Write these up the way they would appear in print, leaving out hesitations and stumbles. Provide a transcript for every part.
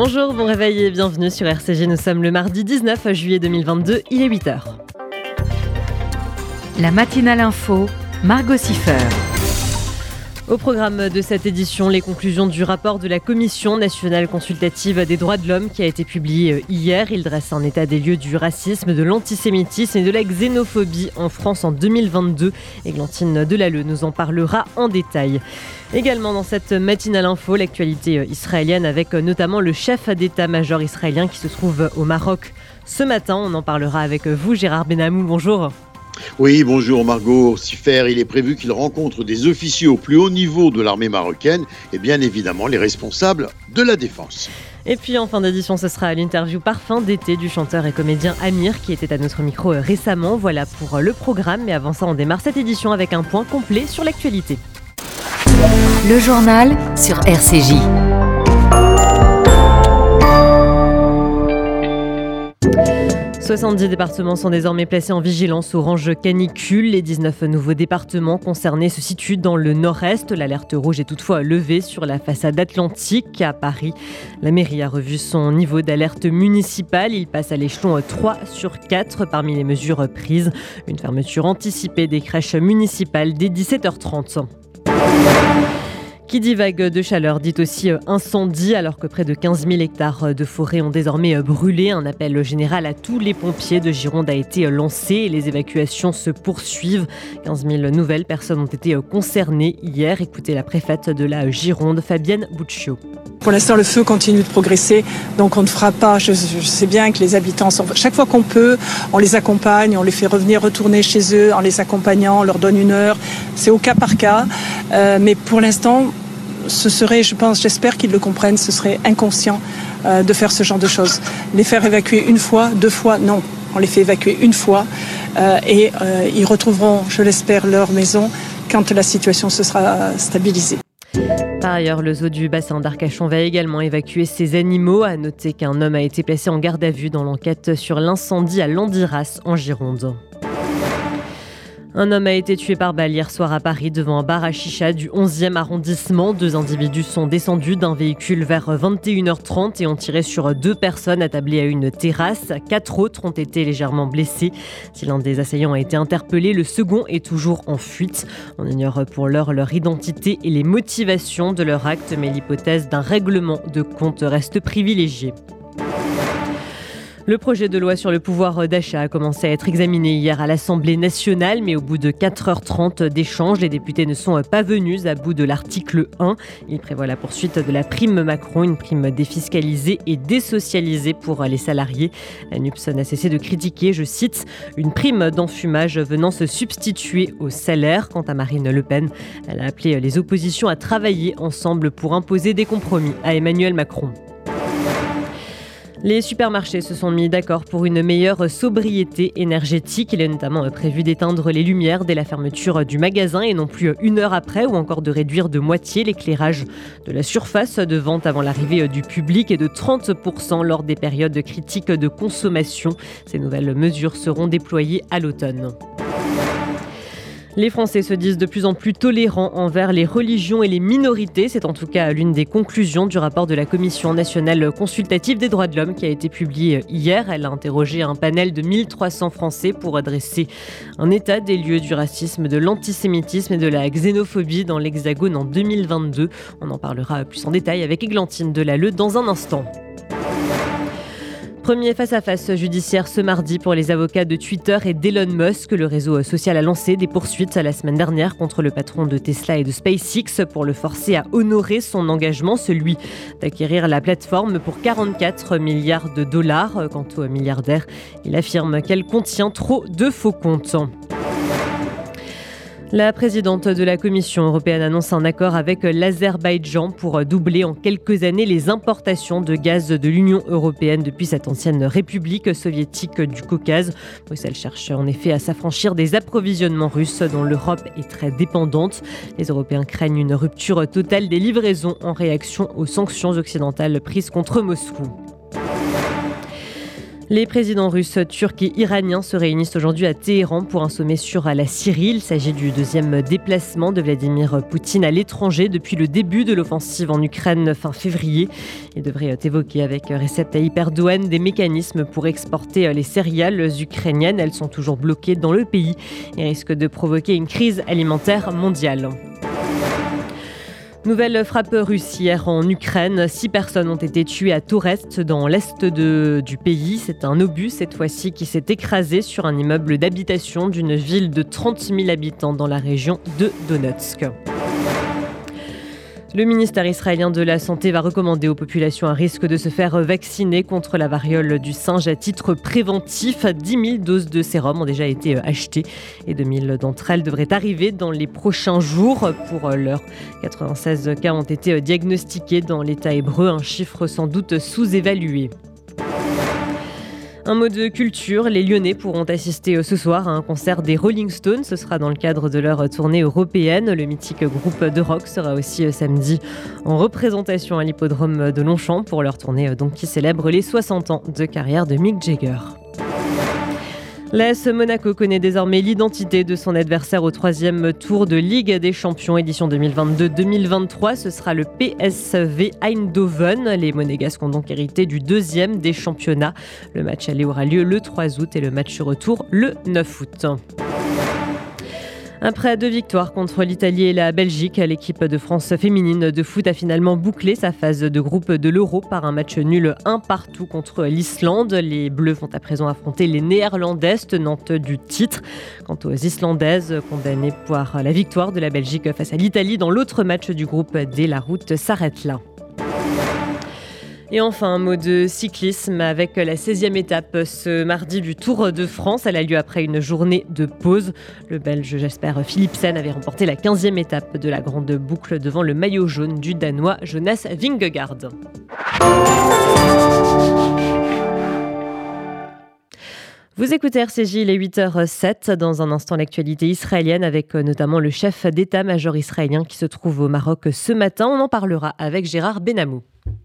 Bonjour, bon réveil et bienvenue sur RCG. Nous sommes le mardi 19 juillet 2022, il est 8h. La matinale info, Margot Siffer. Au programme de cette édition, les conclusions du rapport de la Commission nationale consultative des droits de l'homme qui a été publié hier. Il dresse un état des lieux du racisme, de l'antisémitisme et de la xénophobie en France en 2022. Églantine Delalleux nous en parlera en détail. Également dans cette matinale info, l'actualité israélienne avec notamment le chef d'état-major israélien qui se trouve au Maroc ce matin. On en parlera avec vous, Gérard Benamou. Bonjour. Oui, bonjour Margot Siffer. Il est prévu qu'il rencontre des officiers au plus haut niveau de l'armée marocaine et bien évidemment les responsables de la défense. Et puis en fin d'édition, ce sera l'interview Parfum d'été du chanteur et comédien Amir qui était à notre micro récemment. Voilà pour le programme, mais avant ça, on démarre cette édition avec un point complet sur l'actualité. Le journal sur RCJ. « 70 départements sont désormais placés en vigilance orange canicule. Les 19 nouveaux départements concernés se situent dans le nord-est. L'alerte rouge est toutefois levée sur la façade atlantique. À Paris, la mairie a revu son niveau d'alerte municipale. Il passe à l'échelon 3 sur 4 parmi les mesures prises. Une fermeture anticipée des crèches municipales dès 17h30. Qui dit vague de chaleur dit aussi incendie, alors que près de 15 000 hectares de forêt ont désormais brûlé. Un appel général à tous les pompiers de Gironde a été lancé et les évacuations se poursuivent. 15 000 nouvelles personnes ont été concernées hier. Écoutez la préfète de la Gironde, Fabienne Buccio. Pour l'instant, le feu continue de progresser, donc on ne fera pas. Je sais bien que les habitants, chaque fois qu'on peut, on les accompagne, on les fait retourner chez eux en les accompagnant, on leur donne une heure. C'est au cas par cas, mais pour l'instant, ce serait, j'espère qu'ils le comprennent, ce serait inconscient de faire ce genre de choses. Les faire évacuer une fois, 2 fois, non. On les fait évacuer une fois et ils retrouveront, je l'espère, leur maison quand la situation se sera stabilisée. Par ailleurs, le zoo du bassin d'Arcachon va également évacuer ses animaux. À noter qu'un homme a été placé en garde à vue dans l'enquête sur l'incendie à Landiras en Gironde. Un homme a été tué par balle hier soir à Paris devant un bar à chicha du 11e arrondissement. 2 individus sont descendus d'un véhicule vers 21h30 et ont tiré sur 2 personnes attablées à une terrasse. 4 autres ont été légèrement blessés. Si l'un des assaillants a été interpellé, le second est toujours en fuite. On ignore pour l'heure leur identité et les motivations de leur acte, mais l'hypothèse d'un règlement de compte reste privilégiée. Le projet de loi sur le pouvoir d'achat a commencé à être examiné hier à l'Assemblée nationale, mais au bout de 4h30 d'échanges, les députés ne sont pas venus à bout de l'article 1. Il prévoit la poursuite de la prime Macron, une prime défiscalisée et désocialisée pour les salariés. La NUPS n'a cessé de critiquer, je cite, une prime d'enfumage venant se substituer au salaire. Quant à Marine Le Pen, elle a appelé les oppositions à travailler ensemble pour imposer des compromis à Emmanuel Macron. Les supermarchés se sont mis d'accord pour une meilleure sobriété énergétique. Il est notamment prévu d'éteindre les lumières dès la fermeture du magasin et non plus 1 heure après, ou encore de réduire de moitié l'éclairage de la surface de vente avant l'arrivée du public et de 30% lors des périodes critiques de consommation. Ces nouvelles mesures seront déployées à l'automne. Les Français se disent de plus en plus tolérants envers les religions et les minorités. C'est en tout cas l'une des conclusions du rapport de la Commission nationale consultative des droits de l'homme qui a été publié hier. Elle a interrogé un panel de 1300 Français pour dresser un état des lieux du racisme, de l'antisémitisme et de la xénophobie dans l'Hexagone en 2022. On en parlera plus en détail avec Églantine Delalleux dans un instant. Premier face-à-face judiciaire ce mardi pour les avocats de Twitter et d'Elon Musk. Le réseau social a lancé des poursuites la semaine dernière contre le patron de Tesla et de SpaceX pour le forcer à honorer son engagement, celui d'acquérir la plateforme pour 44 milliards de dollars. Quant au milliardaire, il affirme qu'elle contient trop de faux comptes. La présidente de la Commission européenne annonce un accord avec l'Azerbaïdjan pour doubler en quelques années les importations de gaz de l'Union européenne depuis cette ancienne république soviétique du Caucase. Bruxelles cherche en effet à s'affranchir des approvisionnements russes dont l'Europe est très dépendante. Les Européens craignent une rupture totale des livraisons en réaction aux sanctions occidentales prises contre Moscou. Les présidents russes, turcs et iraniens se réunissent aujourd'hui à Téhéran pour un sommet sur la Syrie. Il s'agit du deuxième déplacement de Vladimir Poutine à l'étranger depuis le début de l'offensive en Ukraine fin février. Il devrait évoquer avec Recep Tayyip Erdogan des mécanismes pour exporter les céréales ukrainiennes. Elles sont toujours bloquées dans le pays et risquent de provoquer une crise alimentaire mondiale. Nouvelle frappe russe hier en Ukraine. 6 personnes ont été tuées à Toretsk dans l'est du pays. C'est un obus cette fois-ci qui s'est écrasé sur un immeuble d'habitation d'une ville de 30 000 habitants dans la région de Donetsk. Le ministère israélien de la Santé va recommander aux populations à risque de se faire vacciner contre la variole du singe à titre préventif. 10 000 doses de sérum ont déjà été achetées et 2 000 d'entre elles devraient arriver dans les prochains jours. Pour l'heure, 96 cas ont été diagnostiqués dans l'État hébreu, un chiffre sans doute sous-évalué. Un mot de culture, les Lyonnais pourront assister ce soir à un concert des Rolling Stones. Ce sera dans le cadre de leur tournée européenne. Le mythique groupe de rock sera aussi samedi en représentation à l'hippodrome de Longchamp pour leur tournée qui célèbre les 60 ans de carrière de Mick Jagger. L'AS Monaco connaît désormais l'identité de son adversaire au 3e tour de Ligue des Champions édition 2022-2023. Ce sera le PSV Eindhoven. Les Monégasques ont donc hérité du 2e des championnats. Le match aller aura lieu le 3 août et le match retour le 9 août. Après 2 victoires contre l'Italie et la Belgique, l'équipe de France féminine de foot a finalement bouclé sa phase de groupe de l'Euro par un match nul 1-1 contre l'Islande. Les Bleus vont à présent affronter les Néerlandaises, tenantes du titre. Quant aux Islandaises, condamnées par la victoire de la Belgique face à l'Italie dans l'autre match du groupe D, la route s'arrête là. Et enfin, un mot de cyclisme avec la 16e étape ce mardi du Tour de France. Elle a lieu après une journée de pause. Le Belge Jasper Philipsen avait remporté la 15e étape de la grande boucle devant le maillot jaune du Danois Jonas Vingegaard. Vous écoutez RCJ, il est 8h07. Dans un instant, l'actualité israélienne avec notamment le chef d'état-major israélien qui se trouve au Maroc ce matin. On en parlera avec Gérard Benamou.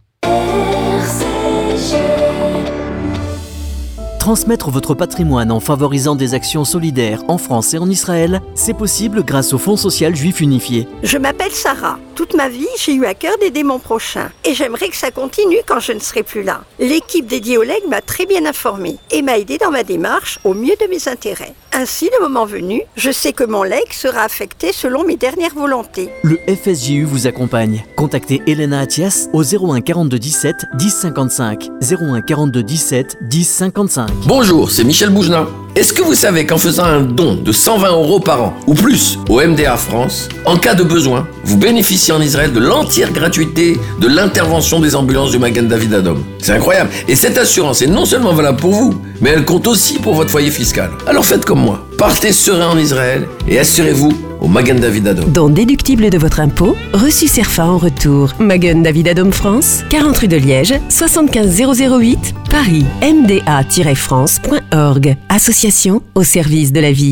Transmettre votre patrimoine en favorisant des actions solidaires en France et en Israël, c'est possible grâce au Fonds social juif unifié. Je m'appelle Sarah. Toute ma vie, j'ai eu à cœur d'aider mon prochain. Et j'aimerais que ça continue quand je ne serai plus là. L'équipe dédiée au legs m'a très bien informée et m'a aidée dans ma démarche au mieux de mes intérêts. Ainsi, le moment venu, je sais que mon legs sera affecté selon mes dernières volontés. Le FSJU vous accompagne. Contactez Elena Attias au 01 42 17 10 55. 01 42 17 10 55. Bonjour, c'est Michel Boujna. Est-ce que vous savez qu'en faisant un don de 120 € par an ou plus au MDA France, en cas de besoin, vous bénéficiez en Israël de l'entière gratuité de l'intervention des ambulances du Magen David Adom. C'est incroyable. Et cette assurance est non seulement valable pour vous, mais elle compte aussi pour votre foyer fiscal. Alors faites comme moi. Partez serein en Israël et assurez-vous au Magen David Adom. Don déductible de votre impôt, reçu CERFA en retour. Magen David Adom France, 40 rue de Liège, 75 008, Paris. mda-france.org. Association au service de la vie.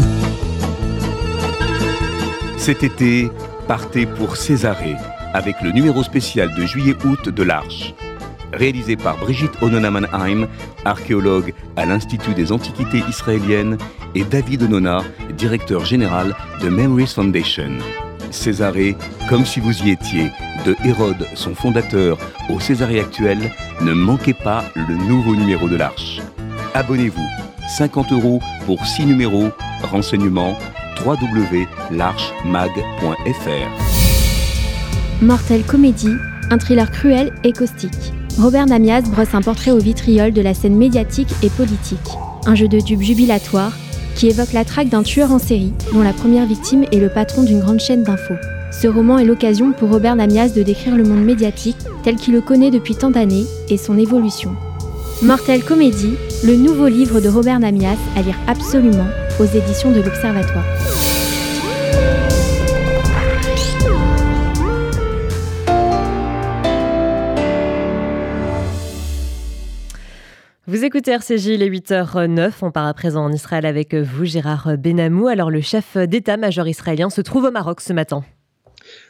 Cet été, partez pour Césarée avec le numéro spécial de juillet-août de l'Arche. Réalisé par Brigitte Onona-Mannheim, archéologue à l'Institut des Antiquités israéliennes, et David Onona, directeur général de Memories Foundation. Césarée, comme si vous y étiez, de Hérode, son fondateur, au Césarée actuel, ne manquez pas le nouveau numéro de l'Arche. Abonnez-vous, 50 € pour 6 numéros, renseignements www.larchemag.fr. Mortel Comédie, un thriller cruel et caustique. Robert Namias brosse un portrait au vitriol de la scène médiatique et politique. Un jeu de dupes jubilatoire qui évoque la traque d'un tueur en série dont la première victime est le patron d'une grande chaîne d'infos. Ce roman est l'occasion pour Robert Namias de décrire le monde médiatique tel qu'il le connaît depuis tant d'années et son évolution. Mortel Comédie, le nouveau livre de Robert Namias à lire absolument aux éditions de l'Observatoire. Vous écoutez RCJ, il est 8h09. On part à présent en Israël avec vous, Gérard Benamou. Alors, le chef d'état-major israélien se trouve au Maroc ce matin.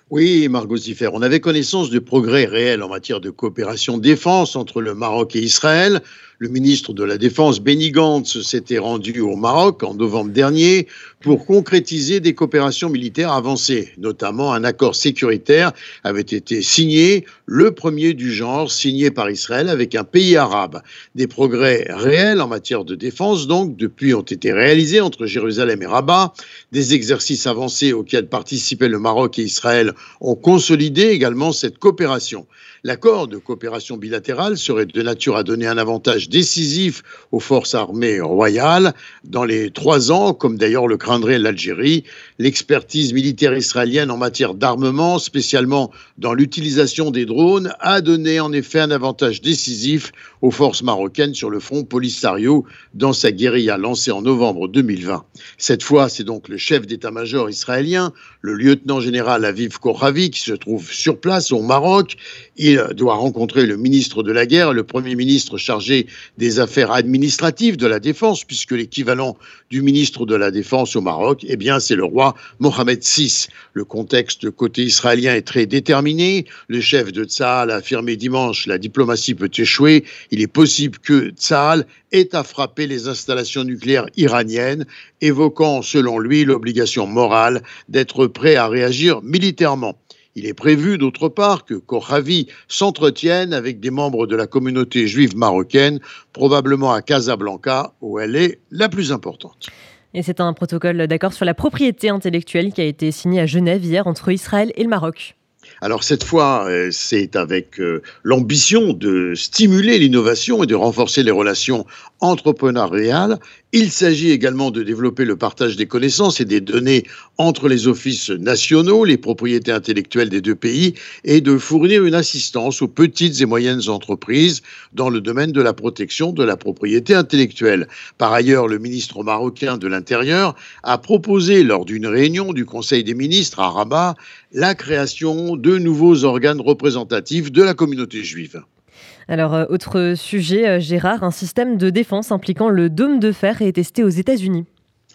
Oui, Margot Siffer, on avait connaissance de progrès réels en matière de coopération défense entre le Maroc et Israël. Le ministre de la Défense, Benny Gantz, s'était rendu au Maroc en novembre dernier pour concrétiser des coopérations militaires avancées. Notamment, un accord sécuritaire avait été signé, le premier du genre, signé par Israël avec un pays arabe. Des progrès réels en matière de défense, donc, depuis ont été réalisés entre Jérusalem et Rabat. Des exercices avancés auxquels participaient le Maroc et Israël ont consolidé également cette coopération. L'accord de coopération bilatérale serait de nature à donner un avantage décisif aux forces armées royales dans les 3 ans, comme d'ailleurs le craindrait l'Algérie. L'expertise militaire israélienne en matière d'armement, spécialement dans l'utilisation des drones, a donné en effet un avantage décisif aux forces marocaines sur le front Polisario dans sa guérilla lancée en novembre 2020. Cette fois, c'est donc le chef d'état-major israélien, le lieutenant-général Aviv Kochavi, qui se trouve sur place au Maroc. Il doit rencontrer le ministre de la Guerre, le Premier ministre chargé des affaires administratives de la Défense, puisque l'équivalent du ministre de la Défense au Maroc, eh bien, c'est le roi Mohamed VI. Le contexte côté israélien est très déterminé. Le chef de Tsahal a affirmé dimanche: la diplomatie peut échouer. Il est possible que Tsahal ait à frapper les installations nucléaires iraniennes, évoquant, selon lui, l'obligation morale d'être prêt à réagir militairement. Il est prévu, d'autre part, que Kochavi s'entretienne avec des membres de la communauté juive marocaine, probablement à Casablanca, où elle est la plus importante. Et c'est un protocole d'accord sur la propriété intellectuelle qui a été signé à Genève hier entre Israël et le Maroc. Alors cette fois, c'est avec l'ambition de stimuler l'innovation et de renforcer les relations entrepreneuriales. Il s'agit également de développer le partage des connaissances et des données entre les offices nationaux, les propriétés intellectuelles des deux pays, et de fournir une assistance aux petites et moyennes entreprises dans le domaine de la protection de la propriété intellectuelle. Par ailleurs, le ministre marocain de l'Intérieur a proposé lors d'une réunion du Conseil des ministres à Rabat la création de nouveaux organes représentatifs de la communauté juive. Alors, autre sujet, Gérard, un système de défense impliquant le dôme de fer est testé aux États-Unis.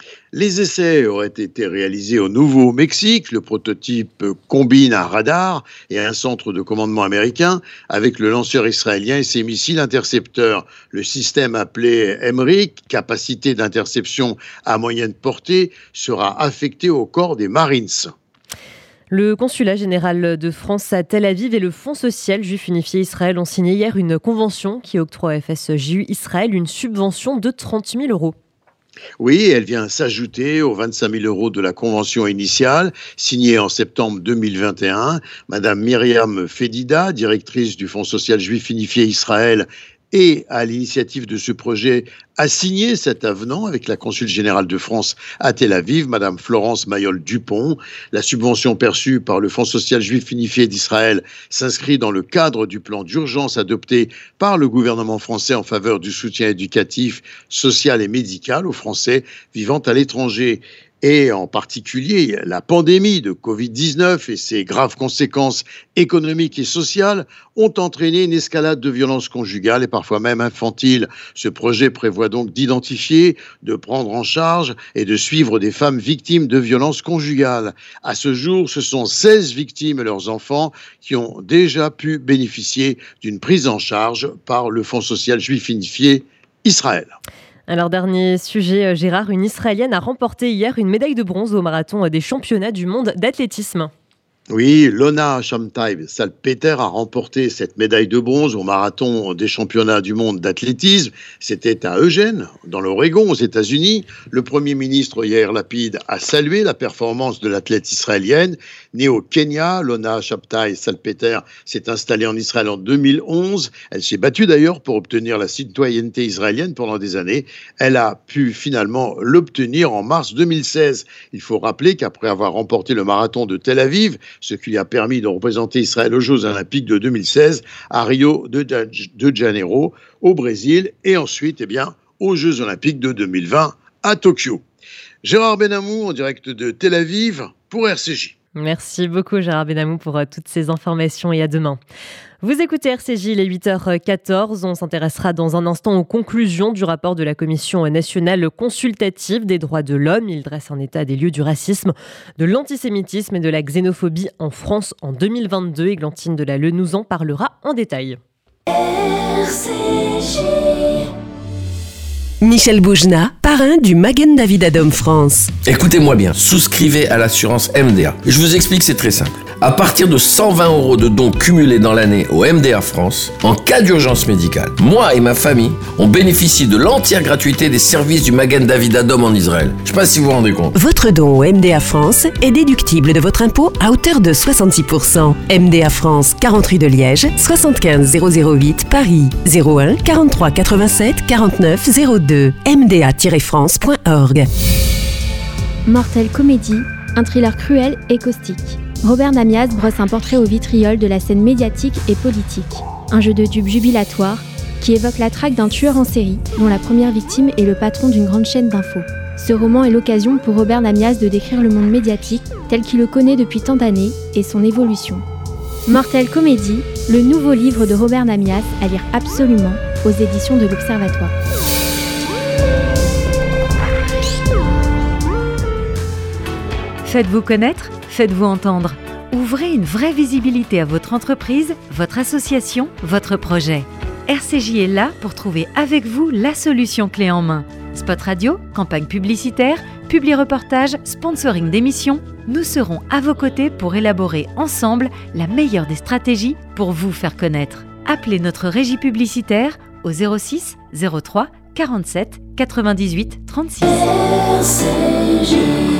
Les essais auraient été réalisés au Nouveau-Mexique. Le prototype combine un radar et un centre de commandement américain avec le lanceur israélien et ses missiles intercepteurs. Le système appelé MRIC, capacité d'interception à moyenne portée, sera affecté au corps des Marines. Le consulat général de France à Tel Aviv et le Fonds social juif unifié Israël ont signé hier une convention qui octroie à FSJU Israël une subvention de 30 000 €. Oui, elle vient s'ajouter aux 25 000 € de la convention initiale, signée en septembre 2021. Madame Myriam Fedida, directrice du Fonds social juif unifié Israël, et à l'initiative de ce projet, a signé cet avenant avec la consul générale de France à Tel Aviv, Madame Florence Mayol-Dupont. La subvention perçue par le Fonds social juif unifié d'Israël s'inscrit dans le cadre du plan d'urgence adopté par le gouvernement français en faveur du soutien éducatif, social et médical aux Français vivant à l'étranger. Et en particulier, la pandémie de Covid-19 et ses graves conséquences économiques et sociales ont entraîné une escalade de violences conjugales et parfois même infantiles. Ce projet prévoit donc d'identifier, de prendre en charge et de suivre des femmes victimes de violences conjugales. À ce jour, ce sont 16 victimes et leurs enfants qui ont déjà pu bénéficier d'une prise en charge par le Fonds social juif unifié Israël. Alors, dernier sujet, Gérard, une Israélienne a remporté hier une médaille de bronze au marathon des championnats du monde d'athlétisme. Oui, Lona Shamtai-Salpeter a remporté cette médaille de bronze au marathon des championnats du monde d'athlétisme. C'était à Eugene, dans l'Oregon, aux États-Unis. Le Premier ministre Yair Lapid a salué la performance de l'athlète israélienne. Née au Kenya, Lona Shamtai-Salpeter s'est installée en Israël en 2011. Elle s'est battue d'ailleurs pour obtenir la citoyenneté israélienne pendant des années. Elle a pu finalement l'obtenir en mars 2016. Il faut rappeler qu'après avoir remporté le marathon de Tel Aviv, ce qui lui a permis de représenter Israël aux Jeux Olympiques de 2016 à Rio de Janeiro, au Brésil, et ensuite aux Jeux Olympiques de 2020 à Tokyo. Gérard Benamou en direct de Tel Aviv pour RCJ. Merci beaucoup Gérard Benamou pour toutes ces informations et à demain. Vous écoutez RCJ, il est 8h14. On s'intéressera dans un instant aux conclusions du rapport de la Commission nationale consultative des droits de l'homme. Il dresse un état des lieux du racisme, de l'antisémitisme et de la xénophobie en France en 2022. Églantine Delalleux nous en parlera en détail. RCJ. Michel Boujna, parrain du Magen David Adom France. Écoutez-moi bien, souscrivez à l'assurance MDA. Je vous explique, c'est très simple. À partir de 120 € de dons cumulés dans l'année au MDA France, en cas d'urgence médicale, moi et ma famille, on bénéficie de l'entière gratuité des services du Magen David Adom en Israël. Je ne sais pas si vous vous rendez compte. Votre don au MDA France est déductible de votre impôt à hauteur de 66%. MDA France, 40 rue de Liège, 75 008 Paris, 01 43 87 49 02. mda-france.org. Mortel Comédie, un thriller cruel et caustique. Robert Namias brosse un portrait au vitriol de la scène médiatique et politique. Un jeu de dupes jubilatoire qui évoque la traque d'un tueur en série dont la première victime est le patron d'une grande chaîne d'infos. Ce roman est l'occasion pour Robert Namias de décrire le monde médiatique tel qu'il le connaît depuis tant d'années et son évolution. Mortel Comédie, le nouveau livre de Robert Namias à lire absolument aux éditions de l'Observatoire. Faites-vous connaître, faites-vous entendre. Ouvrez une vraie visibilité à votre entreprise, votre association, votre projet. RCJ est là pour trouver avec vous la solution clé en main. Spot radio, campagne publicitaire, publi-reportage, sponsoring d'émissions, nous serons à vos côtés pour élaborer ensemble la meilleure des stratégies pour vous faire connaître. Appelez notre régie publicitaire au 06 03 47 98 36. RCJ.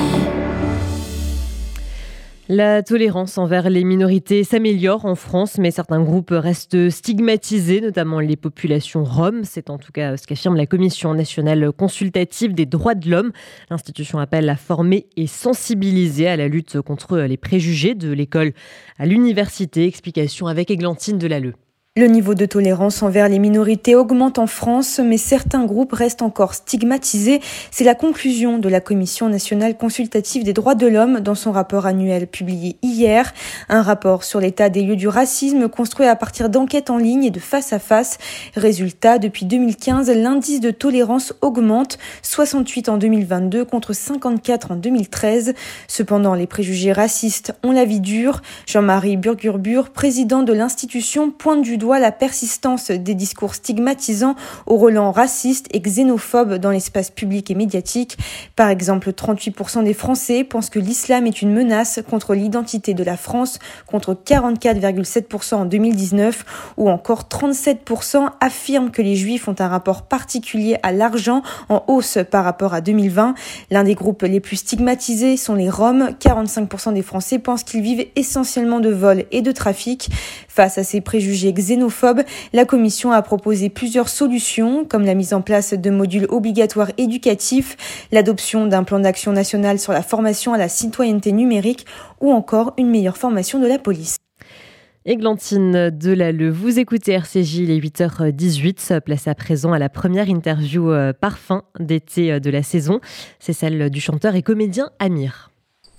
La tolérance envers les minorités s'améliore en France, mais certains groupes restent stigmatisés, notamment les populations roms. C'est en tout cas ce qu'affirme la Commission nationale consultative des droits de l'homme. L'institution appelle à former et sensibiliser à la lutte contre les préjugés de l'école à l'université. Explication avec Églantine Delalleux. Le niveau de tolérance envers les minorités augmente en France, mais certains groupes restent encore stigmatisés. C'est la conclusion de la Commission nationale consultative des droits de l'homme dans son rapport annuel publié hier. Un rapport sur l'état des lieux du racisme construit à partir d'enquêtes en ligne et de face à face. Résultat, depuis 2015, l'indice de tolérance augmente, 68 en 2022 contre 54 en 2013. Cependant, les préjugés racistes ont la vie dure. Jean-Marie Burgurbur, président de l'institution, pointe du doigt la persistance des discours stigmatisants au relent raciste et xénophobe dans l'espace public et médiatique. Par exemple, 38% des Français pensent que l'islam est une menace contre l'identité de la France, contre 44,7% en 2019, ou encore 37% affirment que les Juifs ont un rapport particulier à l'argent, en hausse par rapport à 2020. L'un des groupes les plus stigmatisés sont les Roms. 45% des Français pensent qu'ils vivent essentiellement de vols et de trafic. Face à ces préjugés xénophobes, la Commission a proposé plusieurs solutions, comme la mise en place de modules obligatoires éducatifs, l'adoption d'un plan d'action national sur la formation à la citoyenneté numérique ou encore une meilleure formation de la police. Églantine Delalleux, vous écoutez RCJ, il est 8h18, place à présent à la première interview parfum d'été de la saison. C'est celle du chanteur et comédien Amir.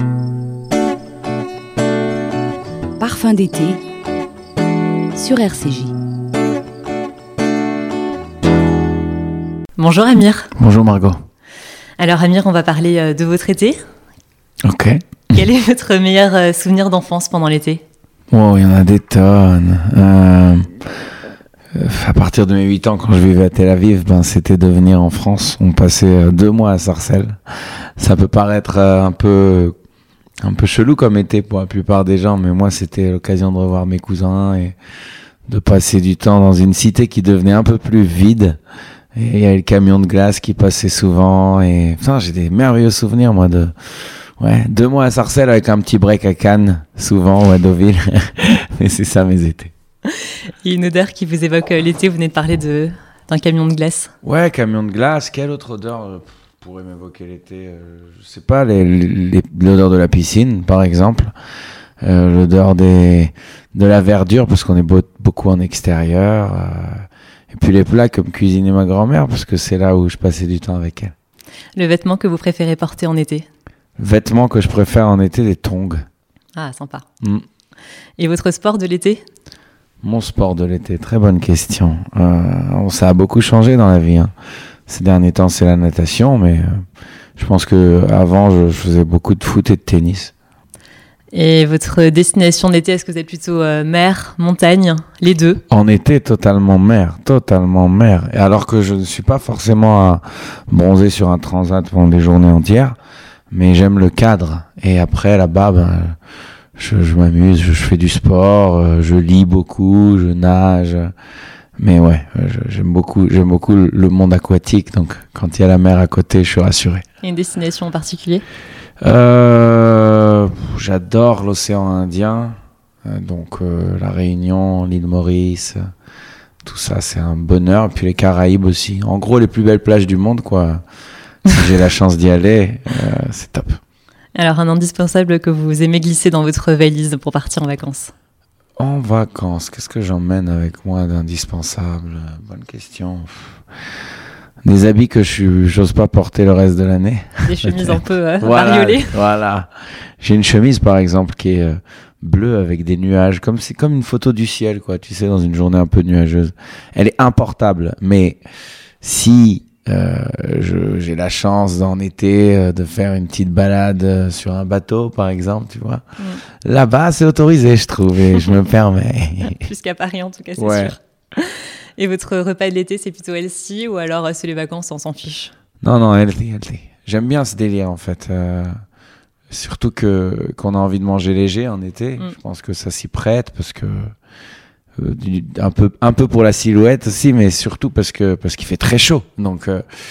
Parfum d'été sur RCJ. Bonjour Amir. Bonjour Margot. Alors Amir, on va parler de votre été. Ok. Quel est votre meilleur souvenir d'enfance pendant l'été ? Wow, il y en a des tonnes. À partir de mes 8 ans, quand je vivais à Tel Aviv, c'était de venir en France. On passait 2 mois à Sarcelles. Ça peut paraître un peu chelou comme été pour la plupart des gens, mais moi c'était l'occasion de revoir mes cousins et de passer du temps dans une cité qui devenait un peu plus vide. Et il y avait le camion de glace qui passait souvent et j'ai des merveilleux souvenirs moi de 2 mois à Sarcelles avec un petit break à Cannes souvent ou à Deauville. Mais c'est ça mes étés. Il y a une odeur qui vous évoque l'été, vous venez de parler d'un camion de glace. Ouais, camion de glace, quelle autre odeur pourrait m'évoquer l'été, je sais pas, l'odeur de la piscine, par exemple, l'odeur de la verdure, parce qu'on est beaucoup en extérieur, et puis les plats comme cuisinait ma grand-mère, parce que c'est là où je passais du temps avec elle. Le vêtement que vous préférez porter en été ? Le vêtement que je préfère en été, les tongs. Ah, sympa. Et votre sport de l'été ? Mon sport de l'été, très bonne question. Ça a beaucoup changé dans la vie. Ces derniers temps, c'est la natation, mais je pense qu'avant, je faisais beaucoup de foot et de tennis. Et votre destination d'été, est-ce que vous êtes plutôt mer, montagne, les deux ? En été, totalement mer. Et alors que je ne suis pas forcément à bronzer sur un transat pendant des journées entières, mais j'aime le cadre. Et après, là-bas, je m'amuse, je fais du sport, je lis beaucoup, je nage. Mais ouais, j'aime beaucoup le monde aquatique. Donc, quand il y a la mer à côté, je suis rassuré. Et une destination en particulier ? J'adore l'océan Indien, donc la Réunion, l'île Maurice, tout ça c'est un bonheur. Et puis les Caraïbes aussi. En gros, les plus belles plages du monde, quoi. Si j'ai la chance d'y aller, c'est top. Alors, un indispensable que vous aimez glisser dans votre valise pour partir en vacances ? En vacances, qu'est-ce que j'emmène avec moi d'indispensable ? Bonne question. Des habits que j'ose pas porter le reste de l'année. Des chemises un peu bariolées. Voilà. J'ai une chemise, par exemple, qui est bleue avec des nuages. C'est comme une photo du ciel, quoi. Tu sais, dans une journée un peu nuageuse. Elle est importable. Mais si j'ai la chance en été de faire une petite balade sur un bateau, par exemple, tu vois. Là-bas, c'est autorisé, je trouve, et je me permets. Plus qu'à Paris, en tout cas, c'est sûr. Et votre repas de l'été, c'est plutôt healthy ou alors c'est les vacances, on s'en fiche ? Non, healthy. J'aime bien ce délire, en fait. Surtout qu'on a envie de manger léger en été. Je pense que ça s'y prête parce que un peu pour la silhouette aussi, mais surtout parce qu'il fait très chaud. Donc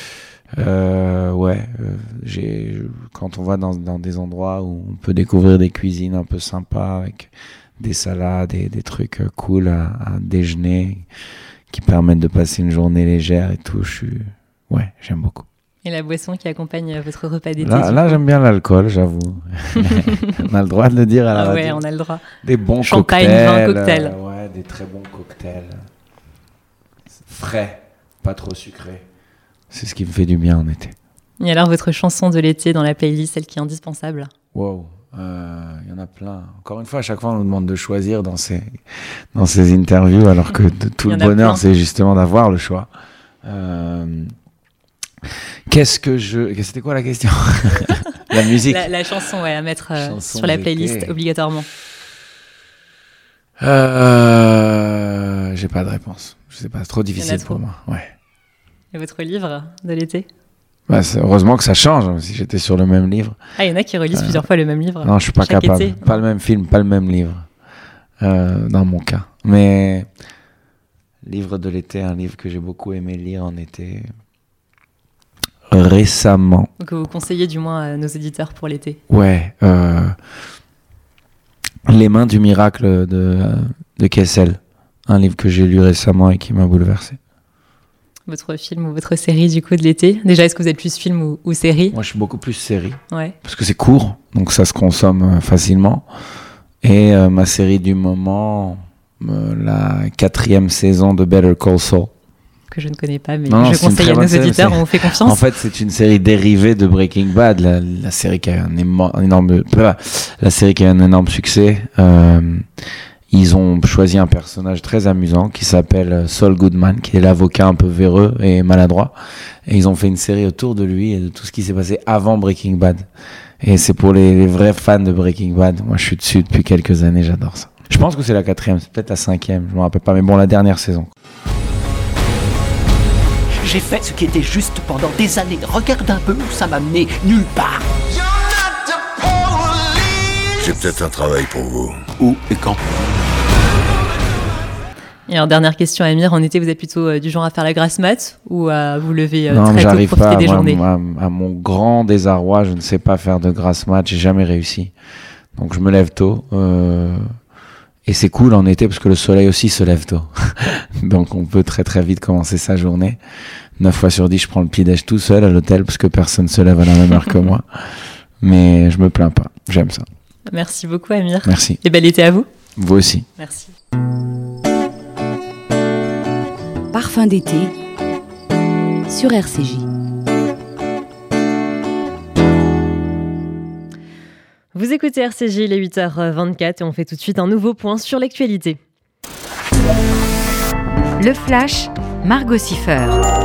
quand on va dans des endroits où on peut découvrir des cuisines un peu sympas avec des salades et des trucs cool à déjeuner qui permettent de passer une journée légère et tout, j'aime beaucoup. Et la boisson qui accompagne votre repas d'été ? Là j'aime bien l'alcool, j'avoue. On a le droit de le dire à la radio. Ouais, on a le droit. Des bons champagne, cocktails. Vin, cocktail. Des très bons cocktails. Frais, pas trop sucrés. C'est ce qui me fait du bien en été. Et alors, votre chanson de l'été dans la playlist, celle qui est indispensable ? Wow, y en a plein. Encore une fois, à chaque fois, on nous demande de choisir dans ces interviews, alors que tout le bonheur, c'est justement d'avoir le choix. C'était quoi la question ? La musique. La chanson, à mettre sur la playlist, obligatoirement. J'ai pas de réponse. Je sais pas, c'est trop difficile pour moi. Ouais. Et votre livre de l'été ? Heureusement que ça change, si j'étais sur le même livre. Ah, il y en a qui relisent plusieurs fois le même livre. Non, je suis pas capable. Été, pas le même film, pas le même livre. Dans mon cas. Mais livre de l'été, un livre que j'ai beaucoup aimé lire en été récemment. Que vous conseillez du moins à nos éditeurs pour l'été. Ouais. Les mains du miracle de Kessel. Un livre que j'ai lu récemment et qui m'a bouleversé. Votre film ou votre série du coup de l'été ? Déjà, est-ce que vous êtes plus film ou série ? Moi, je suis beaucoup plus série. Ouais. Parce que c'est court, donc ça se consomme facilement. Et ma série du moment, la 4e saison de Better Call Saul. Que je ne connais pas, mais je conseille à nos auditeurs, on vous fait confiance. En fait, c'est une série dérivée de Breaking Bad, la série qui a un énorme succès. Ils ont choisi un personnage très amusant qui s'appelle Saul Goodman, qui est l'avocat un peu véreux et maladroit. Et ils ont fait une série autour de lui et de tout ce qui s'est passé avant Breaking Bad. Et c'est pour les vrais fans de Breaking Bad. Moi, je suis dessus depuis quelques années, j'adore ça. Je pense que c'est la 4e, c'est peut-être la 5e, je me rappelle pas. Mais bon, la dernière saison. J'ai fait ce qui était juste pendant des années. Regarde un peu où ça m'a mené, nulle part. J'ai peut-être un travail pour vous. Où et quand ? Et alors, dernière question, Amir, en été, vous êtes plutôt du genre à faire la grasse mat ou à vous lever très tôt pour profiter des journées ? À mon grand désarroi, je ne sais pas faire de grasse mat, j'ai jamais réussi. Donc je me lève tôt. Et c'est cool en été parce que le soleil aussi se lève tôt. Donc on peut très très vite commencer sa journée. 9 fois sur 10, je prends le petit-déj tout seul à l'hôtel parce que personne ne se lève à la même heure que moi. Mais je me plains pas, j'aime ça. Merci beaucoup, Amir. Merci. Et bel été à vous. Vous aussi. Merci. Parfum d'été sur RCJ. Vous écoutez RCJ, il est 8h24 et on fait tout de suite un nouveau point sur l'actualité. Le Flash, Margot Siffer.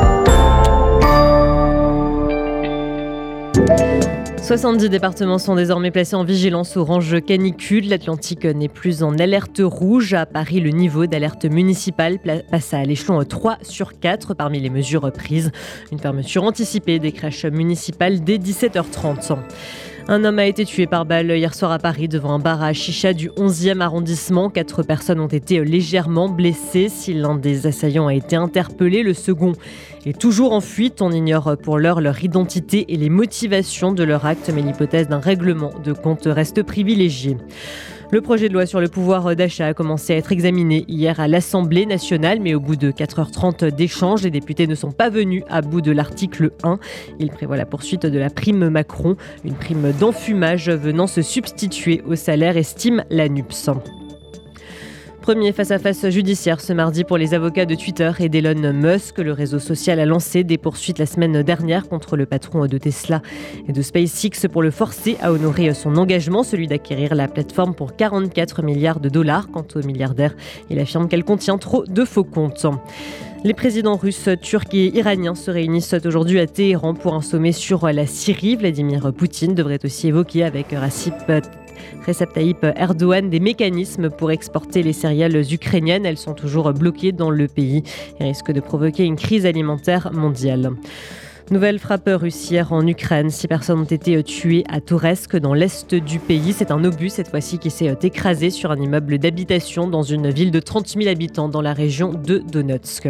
70 départements sont désormais placés en vigilance orange canicule. L'Atlantique n'est plus en alerte rouge. À Paris, le niveau d'alerte municipale passe à l'échelon 3 sur 4 parmi les mesures prises. Une fermeture anticipée des crèches municipales dès 17h30. Un homme a été tué par balle hier soir à Paris devant un bar à chicha du 11e arrondissement. 4 personnes ont été légèrement blessées. Si l'un des assaillants a été interpellé, le second est toujours en fuite. On ignore pour l'heure leur identité et les motivations de leur acte, mais l'hypothèse d'un règlement de compte reste privilégiée. Le projet de loi sur le pouvoir d'achat a commencé à être examiné hier à l'Assemblée nationale, mais au bout de 4h30 d'échanges, les députés ne sont pas venus à bout de l'article 1. Il prévoit la poursuite de la prime Macron, une prime d'enfumage venant se substituer au salaire, estime l'ANUPS. Premier face-à-face judiciaire ce mardi pour les avocats de Twitter et d'Elon Musk. Le réseau social a lancé des poursuites la semaine dernière contre le patron de Tesla et de SpaceX pour le forcer à honorer son engagement, celui d'acquérir la plateforme pour 44 milliards de dollars. Quant au milliardaire, il affirme qu'elle contient trop de faux comptes. Les présidents russes, turcs et iraniens se réunissent aujourd'hui à Téhéran pour un sommet sur la Syrie. Vladimir Poutine devrait aussi évoquer avec Recep Tayyip Erdogan des mécanismes pour exporter les céréales ukrainiennes. Elles sont toujours bloquées dans le pays et risquent de provoquer une crise alimentaire mondiale. Nouvelle frappe russe hier en Ukraine. 6 personnes ont été tuées à Touretsk dans l'est du pays. C'est un obus cette fois-ci qui s'est écrasé sur un immeuble d'habitation dans une ville de 30 000 habitants dans la région de Donetsk.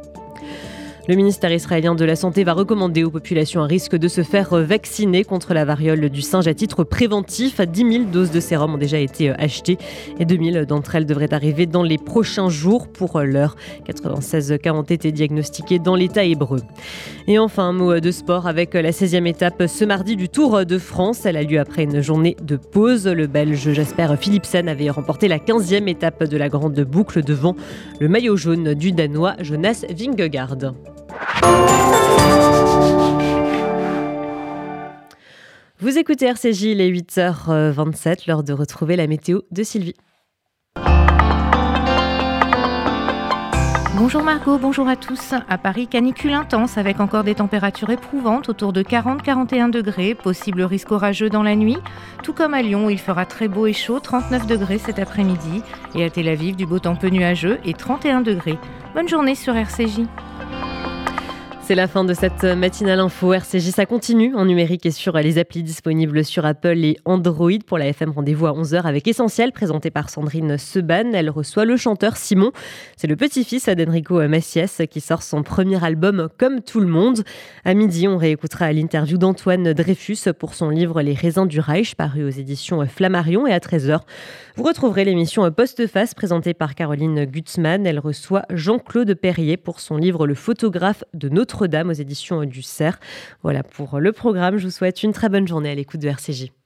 Le ministère israélien de la Santé va recommander aux populations à risque de se faire vacciner contre la variole du singe à titre préventif. 10 000 doses de sérum ont déjà été achetées et 2 000 d'entre elles devraient arriver dans les prochains jours. Pour l'heure, 96 cas ont été diagnostiqués dans l'État hébreu. Et enfin, un mot de sport avec la 16e étape ce mardi du Tour de France. Elle a lieu après une journée de pause. Le Belge Jasper Philipsen avait remporté la 15e étape de la grande boucle devant le maillot jaune du Danois Jonas Vingegaard. Vous écoutez RCJ, il est 8h27, l'heure de retrouver la météo de Sylvie. Bonjour Margot, bonjour à tous. À Paris, canicule intense avec encore des températures éprouvantes autour de 40-41 degrés, possible risque orageux dans la nuit. Tout comme à Lyon, il fera très beau et chaud, 39 degrés cet après-midi. Et à Tel Aviv, du beau temps peu nuageux et 31 degrés. Bonne journée sur RCJ. C'est la fin de cette matinale info. RCJ, ça continue en numérique et sur les applis disponibles sur Apple et Android. Pour la FM, rendez-vous à 11h avec Essentiel, présenté par Sandrine Seban. Elle reçoit le chanteur Simon. C'est le petit-fils d'Enrico Macias qui sort son premier album Comme tout le monde. À midi, on réécoutera l'interview d'Antoine Dreyfus pour son livre Les raisins du Reich, paru aux éditions Flammarion. Et à 13h, vous retrouverez l'émission Postface, présentée par Caroline Gutzmann. Elle reçoit Jean-Claude Perrier pour son livre Le photographe de Notre-Dame aux éditions du Cerf. Voilà pour le programme. Je vous souhaite une très bonne journée à l'écoute de RCJ.